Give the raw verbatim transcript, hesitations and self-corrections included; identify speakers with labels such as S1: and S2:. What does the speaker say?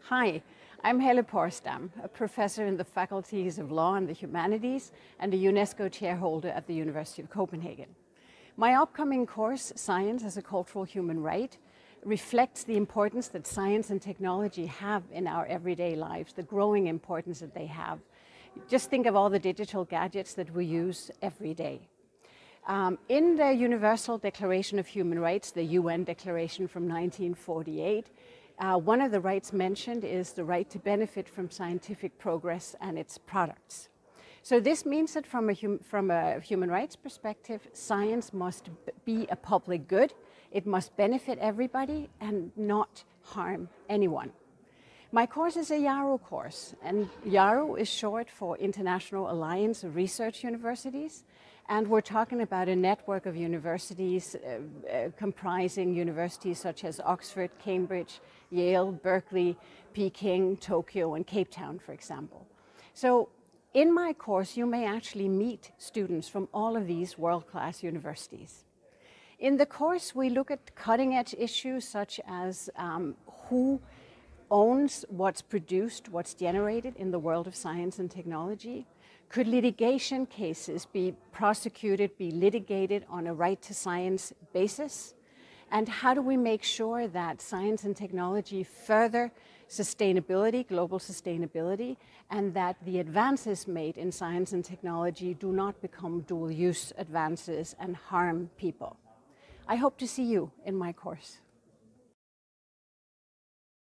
S1: Hi, I'm Helle Porsdam, a professor in the faculties of Law and the Humanities and a UNESCO chairholder at the University of Copenhagen. My upcoming course, Science as a Cultural Human Right, reflects the importance that science and technology have in our everyday lives, the growing importance that they have. Just think of all the digital gadgets that we use every day. Um, in the Universal Declaration of Human Rights, the U N Declaration from nineteen forty-eight, uh, one of the rights mentioned is the right to benefit from scientific progress and its products. So this means that from a, hum from a human rights perspective, science must be a public good, it must benefit everybody and not harm anyone. My course is a YARU course, and YARU is short for International Alliance of Research Universities, and we're talking about a network of universities uh, uh, comprising universities such as Oxford, Cambridge, Yale, Berkeley, Peking, Tokyo, and Cape Town, for example. So in my course, you may actually meet students from all of these world-class universities. In the course, we look at cutting-edge issues such as um, who owns what's produced, what's generated in the world of science and technology. Could litigation cases be prosecuted, be litigated on a right to science basis? And how do we make sure that science and technology further sustainability, global sustainability, and that the advances made in science and technology do not become dual-use advances and harm people? I hope to see you in my course.